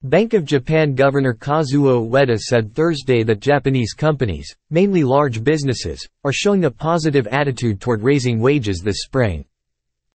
Bank of Japan Governor Kazuo Ueda said Thursday that Japanese companies, mainly large businesses, are showing a positive attitude toward raising wages this spring.